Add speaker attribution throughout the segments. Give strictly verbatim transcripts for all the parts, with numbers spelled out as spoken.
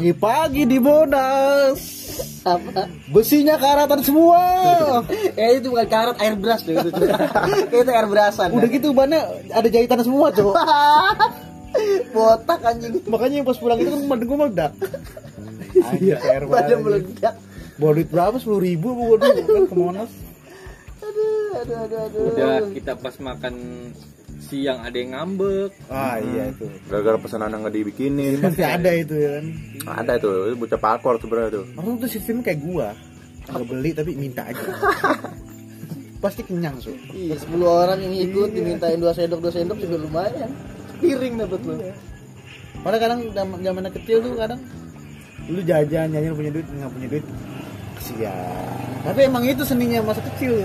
Speaker 1: Pagi-pagi di Monas.
Speaker 2: Apa?
Speaker 1: Besinya karatan semua.
Speaker 2: Eh itu bukan karat, air brush tuh itu. Itu air brushan.
Speaker 1: Udah gitu bannya ada jahitan semua, Cok.
Speaker 2: Botak anjing.
Speaker 1: Makanya yang pas pulang itu kan badan gue meledak.
Speaker 2: Iya, badan meledak.
Speaker 1: Bawa duit berapa? sepuluh ribu gue dulu kan ke Monas.
Speaker 2: Aduh, aduh, aduh, aduh.
Speaker 3: Udah kita pas makan siang ada yang ngambek.
Speaker 1: Ah iya itu.
Speaker 4: Gara-gara pesanan nggak dibikinin.
Speaker 1: Pasti ada itu ya kan.
Speaker 4: Ada itu, itu bocah pakor sebenarnya tuh.
Speaker 1: Orang tuh sistemnya kayak gua. Nggak beli tapi minta aja. Pasti kenyang, Su.
Speaker 2: Iya, sepuluh orang yang ikut dimintain dua sendok dua sendok juga lumayan. Piring dapat lu.
Speaker 1: Padahal kadang zaman kecil tuh kadang lu jajan, jajan punya duit, nggak punya duit. Kesian. Tapi emang itu seninya masa kecil.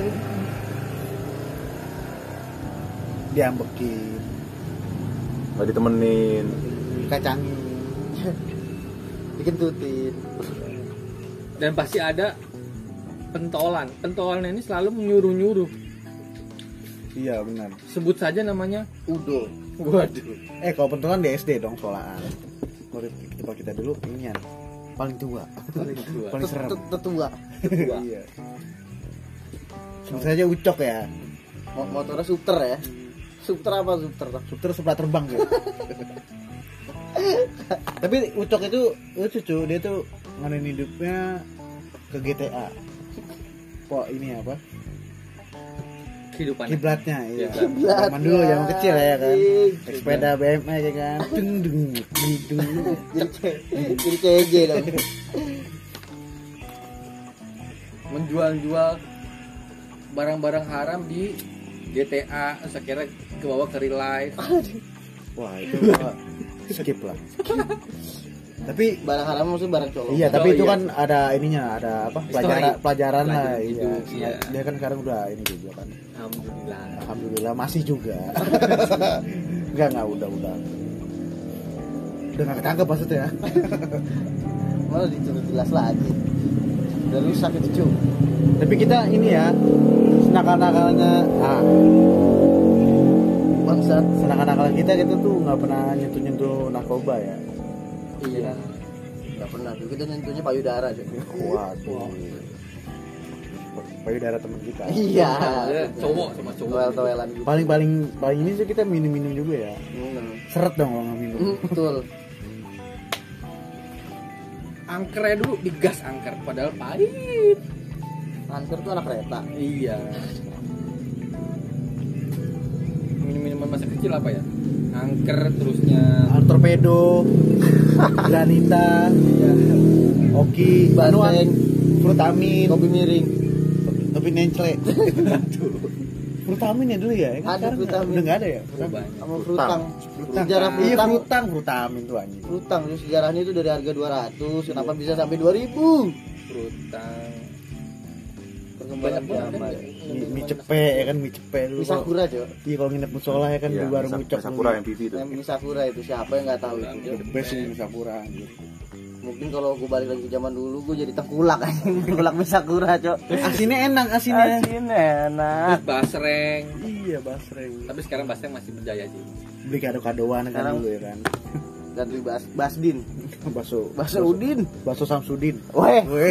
Speaker 1: Diambekin,
Speaker 4: Nggak ditemenin.
Speaker 1: kacangin,
Speaker 2: Dikentutin.
Speaker 3: Dan pasti ada pentolan. Pentolan ini selalu menyuruh-nyuruh.
Speaker 1: iya benar.
Speaker 3: Sebut saja namanya
Speaker 2: Udo.
Speaker 3: waduh.
Speaker 1: Eh kalau pentolan di S D dong sekolahan. Murid kita kita dulu inian paling tua,
Speaker 3: Paling tua.
Speaker 1: paling serem.
Speaker 2: Tetua.
Speaker 1: Iya. Sebut saja Ucok ya.
Speaker 2: Motornya Supter ya. Supter apa Supter?
Speaker 1: Supter sebelah terbang gitu. Tapi Ucok itu lucu cuy, dia tuh ngadain hidupnya ke G T A. Kok ini apa?
Speaker 3: Kehidupan.
Speaker 1: Kiblatnya iya.
Speaker 2: Kiblatnya.
Speaker 1: Zaman dulu zaman kecil ya kan.
Speaker 2: Iya.
Speaker 1: Naik sepeda B M X ya kan. Dung dung dung dung.
Speaker 2: Jadi C- jadi C J dong.
Speaker 3: Menjual-jual barang-barang haram di G T A, terus akhirnya ke bawah ke real life.
Speaker 1: Wah, itu wah, skip lah. Tapi
Speaker 2: Barang haram maksudnya barang colong.
Speaker 1: iya, tapi
Speaker 3: Oh,
Speaker 1: itu
Speaker 3: iya.
Speaker 1: kan ada ininya, ada apa?
Speaker 3: History.
Speaker 1: Pelajaran pelajaran lah
Speaker 3: Pelajaran
Speaker 1: iya.
Speaker 3: hidup, iya.
Speaker 1: Dia kan sekarang udah ini juga kan.
Speaker 3: Alhamdulillah.
Speaker 1: Alhamdulillah masih juga. Enggak enggak udah udah. Udah enggak ketangkep maksudnya.
Speaker 2: Malah ditutup jelas lagi. Udah rusak itu cuy.
Speaker 1: Tapi kita ini ya senakal-nakalnya ah,
Speaker 2: Bangsat.
Speaker 1: senakal-nakalan kita kita tuh nggak pernah nyentuh-nyentuh narkoba ya.
Speaker 2: Iya. Enggak pernah. Dulu kita nyentuhnya payudara cuy.
Speaker 1: Waduh. Payudara teman kita.
Speaker 2: Iya.
Speaker 3: Cowok sama cowok.
Speaker 2: Toel-toelan gitu.
Speaker 1: Paling paling paling ini sih kita minum-minum juga ya.
Speaker 2: Hmm.
Speaker 1: Seret dong kalau nggak minum.
Speaker 2: Hmm, betul.
Speaker 3: Angkernya dulu digas angker, padahal pahit.
Speaker 2: Angker tuh anak kereta.
Speaker 3: Iya. Minum-minuman masa kecil apa ya? Angker terusnya
Speaker 1: Ah, torpedo, granita, ya. Oki,
Speaker 2: Banteng.
Speaker 1: anuan, frutamin,
Speaker 2: Kopi miring.
Speaker 1: kopi nencle. Frutamin ya dulu ya? Kan
Speaker 2: Ada
Speaker 1: sekarang
Speaker 2: frutamin.
Speaker 1: udah nggak ada ya?
Speaker 3: berubah.
Speaker 2: Sama frutang.
Speaker 1: Frutang.
Speaker 2: Sejarah
Speaker 1: Iya
Speaker 2: frutang.
Speaker 1: frutang, frutamin tuh anjing.
Speaker 2: Frutang terus sejarahnya itu dari harga dua ratus kenapa bisa sampai dua ribu?
Speaker 3: Frutang.
Speaker 2: Perkembangan
Speaker 3: Banyak banget
Speaker 2: zaman.
Speaker 3: kan?
Speaker 1: Mie, mie cepe ya kan mie cepe dulu.
Speaker 2: Mie Sakura, Cok.
Speaker 1: Iya kalau nginep musola ya kan
Speaker 4: Iya,
Speaker 1: di warung
Speaker 4: Misa-
Speaker 1: ucok.
Speaker 4: Sakura M P V itu.
Speaker 2: Yang mie Sakura itu siapa yang nggak tahu itu?
Speaker 1: The best ini mie Sakura anjing.
Speaker 2: Mungkin kalau gue balik lagi ke zaman dulu gue jadi tengkulak anjing, tengkulak mie Sakura, Cok.
Speaker 1: Asinnya enak asinnya.
Speaker 2: Asin enak.
Speaker 3: Terus basreng.
Speaker 1: Iya basreng.
Speaker 3: Tapi sekarang basreng masih berjaya sih.
Speaker 1: Beli kado-kadoan kan
Speaker 2: Sekarang-
Speaker 1: dulu ya kan.
Speaker 2: Ganti bas Basdin,
Speaker 1: Bakso.
Speaker 2: Bakso Udin.
Speaker 1: Bakso Samsudin.
Speaker 2: Weh,
Speaker 1: Weh.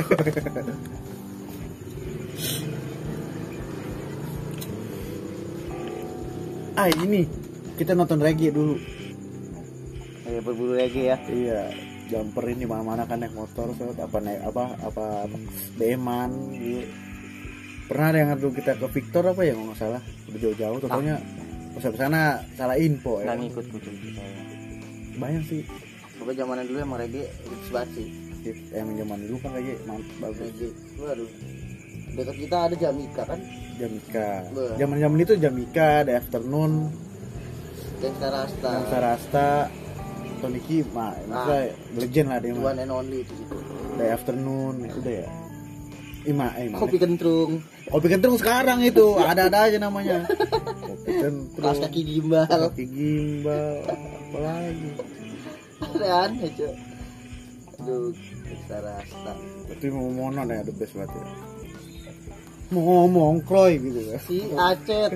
Speaker 1: Ah ini kita nonton reggae dulu.
Speaker 2: kayak berburu reggae ya.
Speaker 1: Iya, jumper ini mana-mana kan naik motor, so, apa naik apa apa, apa B-man gitu. Pernah ada yang ngadu kita ke Victor apa ya kalau nggak salah, udah jauh-jauh, totalnya pas sampai sana salah info ya.
Speaker 2: Nggak ngikut kucing kita.
Speaker 1: Banyak sih,
Speaker 2: Pokoknya zamanan dulu emang reggae hits banget sih.
Speaker 1: yang zaman dulu kan reggae mantap bagus.
Speaker 2: Reggae. Waduh. Dekat kita ada Jamika kan,
Speaker 1: Jamika,
Speaker 2: Be.
Speaker 1: zaman-zaman itu Jamika, The Afternoon,
Speaker 2: Gangsta Rasta.
Speaker 1: Gangsta Rasta, Tony Kima, maksudnya legend lah dia
Speaker 2: The
Speaker 1: mah.
Speaker 2: one and only itu gitu.
Speaker 1: The Afternoon, ya udah ya. Ima, eh, mana?
Speaker 2: Kopi kentrung,
Speaker 1: Kopi kentrung sekarang itu ada-ada aja namanya. Kopi kentrung,
Speaker 2: kelas kaki gimbal.
Speaker 1: kaki gimbal, apa lagi?
Speaker 2: Ada aneh, Cok. Aduh, Gangsta Rasta.
Speaker 1: Tapi mau monon ya the best banget ya. Mau ngomong Kroy gitu ya.
Speaker 2: Si Acet.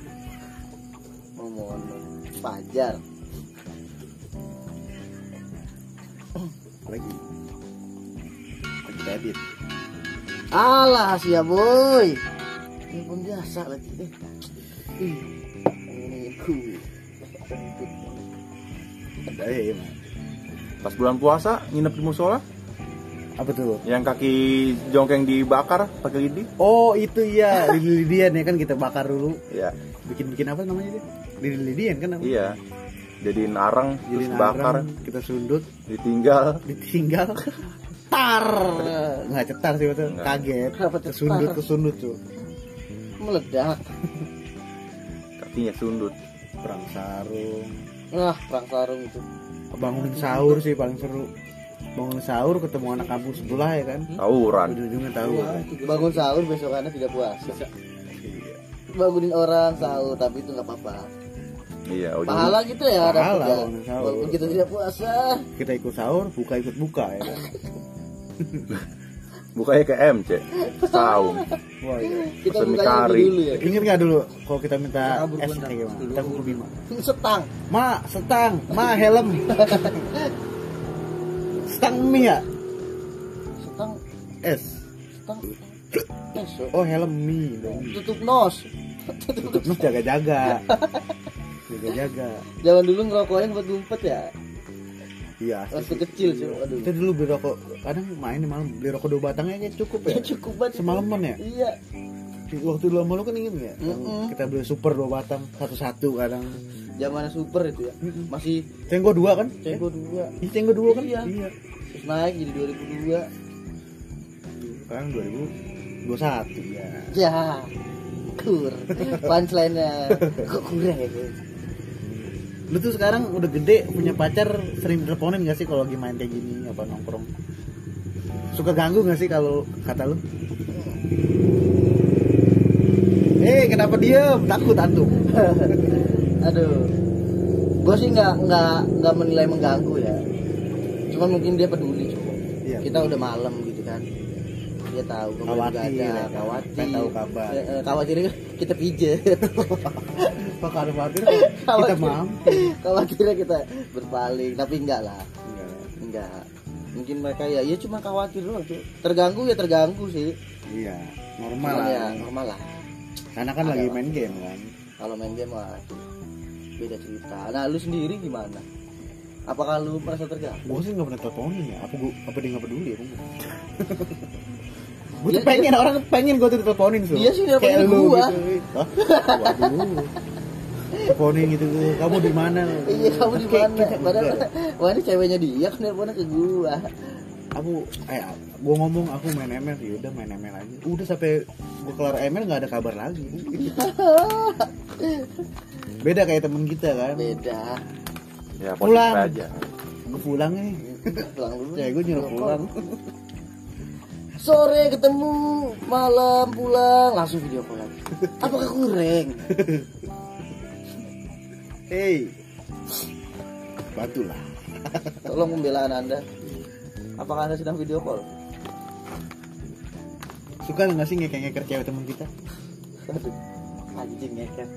Speaker 2: Ngomong Fajar.
Speaker 1: lagi lagi edit.
Speaker 2: Alah sia boy. Ini pun biasa lagi deh. Ih, ini ku.
Speaker 1: Ada ya Mas.
Speaker 4: Pas bulan puasa nginep di musola,
Speaker 1: Apa tuh?
Speaker 4: yang kaki jongkeng dibakar pakai lidi.
Speaker 1: Oh itu iya, lidi-lidian ya kan kita bakar dulu.
Speaker 4: Iya.
Speaker 1: Bikin-bikin apa namanya itu? Lidi-lidian kan namanya?
Speaker 4: Iya. Jadiin arang
Speaker 1: Jadi
Speaker 4: terus bakar,
Speaker 1: kita sundut,
Speaker 4: ditinggal.
Speaker 1: ditinggal. Tar. Nggak cetar sih betul.
Speaker 4: Nggak.
Speaker 1: Kaget.
Speaker 2: Kenapa cetar?
Speaker 1: Kesundut kesundut tuh.
Speaker 2: Meledak.
Speaker 4: Kakinya sundut.
Speaker 1: Perang sarung.
Speaker 2: Wah, perang sarung itu.
Speaker 1: Bangunin sahur sih paling seru. Bangun sahur ketemu anak kampung sebelah ya kan.
Speaker 4: Tawuran.
Speaker 1: Ujung-ujungnya tahu. kan?
Speaker 2: Bangun sahur besokannya tidak puasa. Bangunin orang sahur tapi itu nggak apa-apa.
Speaker 4: Iya, ujung-
Speaker 2: Pahala gitu ya ada
Speaker 1: Pahala
Speaker 2: tiga.
Speaker 1: bangun sahur.
Speaker 2: Walaupun kita tidak puasa.
Speaker 1: Kita ikut sahur, buka ikut buka ya kan.
Speaker 4: Bukanya ke M C. Saum.
Speaker 1: Wah iya.
Speaker 2: Kita
Speaker 4: Pesen
Speaker 2: bukanya
Speaker 4: kari.
Speaker 2: dulu ya.
Speaker 1: Ingat nggak dulu kalau kita minta
Speaker 3: Kabur
Speaker 1: es
Speaker 3: gua
Speaker 1: kayak gimana? Kita kumpul Bima.
Speaker 2: Setang.
Speaker 1: Ma, setang, ma helm. Setang mie ya?
Speaker 2: Setang.
Speaker 1: Es.
Speaker 2: Setang. Besok.
Speaker 1: Oh helm mie dong.
Speaker 2: Tutup nos.
Speaker 1: Tutup nus jaga-jaga. Jaga-jaga.
Speaker 2: Zaman dulu ngerokoknya buat ngumpet ya.
Speaker 1: Iya.
Speaker 2: Waktu kecil sih. Aduh.
Speaker 1: Kita dulu beli rokok, kadang main di malam beli rokok dua batangnya kayak cukup ya.
Speaker 2: Ya cukup banget.
Speaker 1: Semalaman ya.
Speaker 2: Iya.
Speaker 1: Waktu dulu sama lu kan inget nggak? Yang
Speaker 2: Mm-mm.
Speaker 1: Kita beli super dua batang, satu-satu kadang.
Speaker 2: Zamannya super itu ya.
Speaker 1: Mm-mm.
Speaker 2: Masih
Speaker 1: Cenggo dua kan?
Speaker 2: cenggo dua.
Speaker 1: Iya cenggo dua kan?
Speaker 2: Iya.
Speaker 1: Iya.
Speaker 2: Terus naik jadi dua ribu dua.
Speaker 1: Sekarang dua ribu dua puluh satu ya.
Speaker 2: Ya. Kur. Punchline-nya kok kurang.
Speaker 1: Lu tuh sekarang udah gede punya pacar, sering teleponin gak sih kalau lagi main kayak gini apa nongkrong? Suka ganggu gak sih kalau kata lu? Eh kenapa diem? Takut antum.
Speaker 2: Aduh. Gue sih nggak nggak nggak menilai mengganggu ya. Cuma mungkin dia peduli coba.
Speaker 1: Iya.
Speaker 2: Kita udah malam gitu kan. Dia tahu gue
Speaker 1: Khawatir,
Speaker 2: ada,
Speaker 1: ya kan?
Speaker 2: khawatir.
Speaker 1: Pengen tahu kabar.
Speaker 2: Eh, eh, khawatirnya kita pijet.
Speaker 1: Pak kalau khawatir kita
Speaker 2: Khawatir.
Speaker 1: mampu.
Speaker 2: Khawatirnya kita berpaling, tapi enggak lah.
Speaker 1: Enggak.
Speaker 2: Enggak. Mungkin mereka ya, ya cuma khawatir doang cuy. Terganggu ya terganggu sih.
Speaker 1: Iya, normal
Speaker 2: Cuman
Speaker 1: lah.
Speaker 2: ya normal lah.
Speaker 1: Karena kan
Speaker 2: Ada
Speaker 1: lagi
Speaker 2: lah.
Speaker 1: main game kan.
Speaker 2: Kalau main game mah beda cerita. Nah, lu sendiri gimana? Apakah lu merasa terganggu?
Speaker 1: Gue sih nggak pernah teleponin ya. Apa gua, apa dia nggak peduli ya? Gue
Speaker 2: Dia-
Speaker 1: tuh pengen orang pengen gue tuh diteleponin tuh.
Speaker 2: Dia sih nelponin
Speaker 1: Kayak lu
Speaker 2: gua.
Speaker 1: gitu. Hah? Waduh. Teleponin gitu tuh. Kamu di mana?
Speaker 2: Iya, kamu di
Speaker 1: Kayak
Speaker 2: mana?
Speaker 1: gitu,
Speaker 2: Padahal
Speaker 1: enggak.
Speaker 2: wah ini ceweknya dia kan nelponnya ke gua.
Speaker 1: Aku eh gue ngomong aku main M L, ya udah main M L aja. Udah sampai gue kelar M L nggak ada kabar lagi. Beda kayak temen kita kan.
Speaker 2: Beda.
Speaker 4: Ya
Speaker 1: Pulang.
Speaker 4: positif aja.
Speaker 1: Gue pulang nih.
Speaker 2: Pulang dulu.
Speaker 1: Ya gue nyuruh pulang.
Speaker 2: Sore ketemu, malam pulang, langsung video call lagi. Apakah kurang?
Speaker 1: Hey, bantulah.
Speaker 2: Tolong pembelaan Anda. Apakah Anda sedang video call?
Speaker 1: Suka nggak sih ngekek-ngekek cewek temen kita?
Speaker 2: Aduh, anjing ngeker.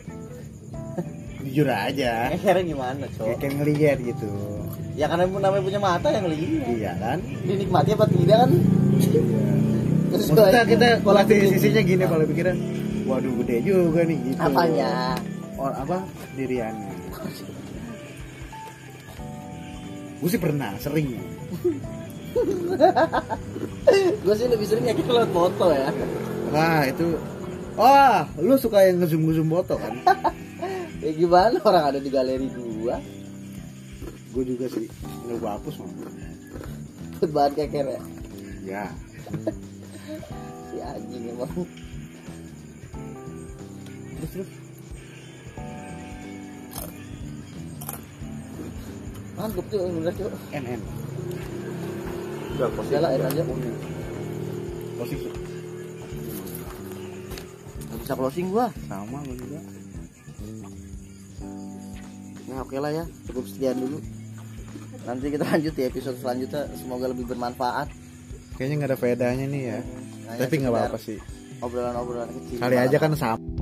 Speaker 1: Jujur aja.
Speaker 2: Ngekernya gimana, Cok?
Speaker 1: Ngekek ngeliat gitu.
Speaker 2: Ya karena namanya punya mata yang lihat.
Speaker 1: Iya kan?
Speaker 2: Dinikmati apa tidak kan?
Speaker 1: Maksudnya kita kalau
Speaker 2: Pola
Speaker 1: di
Speaker 2: pikir.
Speaker 1: sisinya gini kalau pikiran, waduh gede juga nih gitu.
Speaker 2: Apanya?
Speaker 1: Or apa diriannya? Gue sih pernah, sering.
Speaker 2: Gue sih lebih sering ngeker lewat foto ya.
Speaker 1: Wah itu, wah lu suka yang ngezoom ngezoom foto kan?
Speaker 2: Ya gimana orang ada di galeri gua?
Speaker 1: Gue juga sih, nggak gue hapus mah.
Speaker 2: Buat bahan keker ya.
Speaker 1: Ya,
Speaker 2: Si anjing emang.
Speaker 1: terus terus.
Speaker 2: Mantap tuh, bener tuh.
Speaker 1: N N.
Speaker 4: Udah positif.
Speaker 2: Udah lah, air aja.
Speaker 1: Posisi
Speaker 2: Gak bisa closing gua.
Speaker 1: sama gue juga.
Speaker 2: Nah oke lah ya, cukup sekian dulu. Nanti kita lanjut di episode selanjutnya. Semoga lebih bermanfaat.
Speaker 1: Kayaknya nggak ada faedahnya nih ya.
Speaker 2: Hanya
Speaker 1: Tapi nggak
Speaker 2: sekedar
Speaker 1: apa-apa sih.
Speaker 2: Obrolan-obrolan kecil.
Speaker 1: Kali aja kan sama.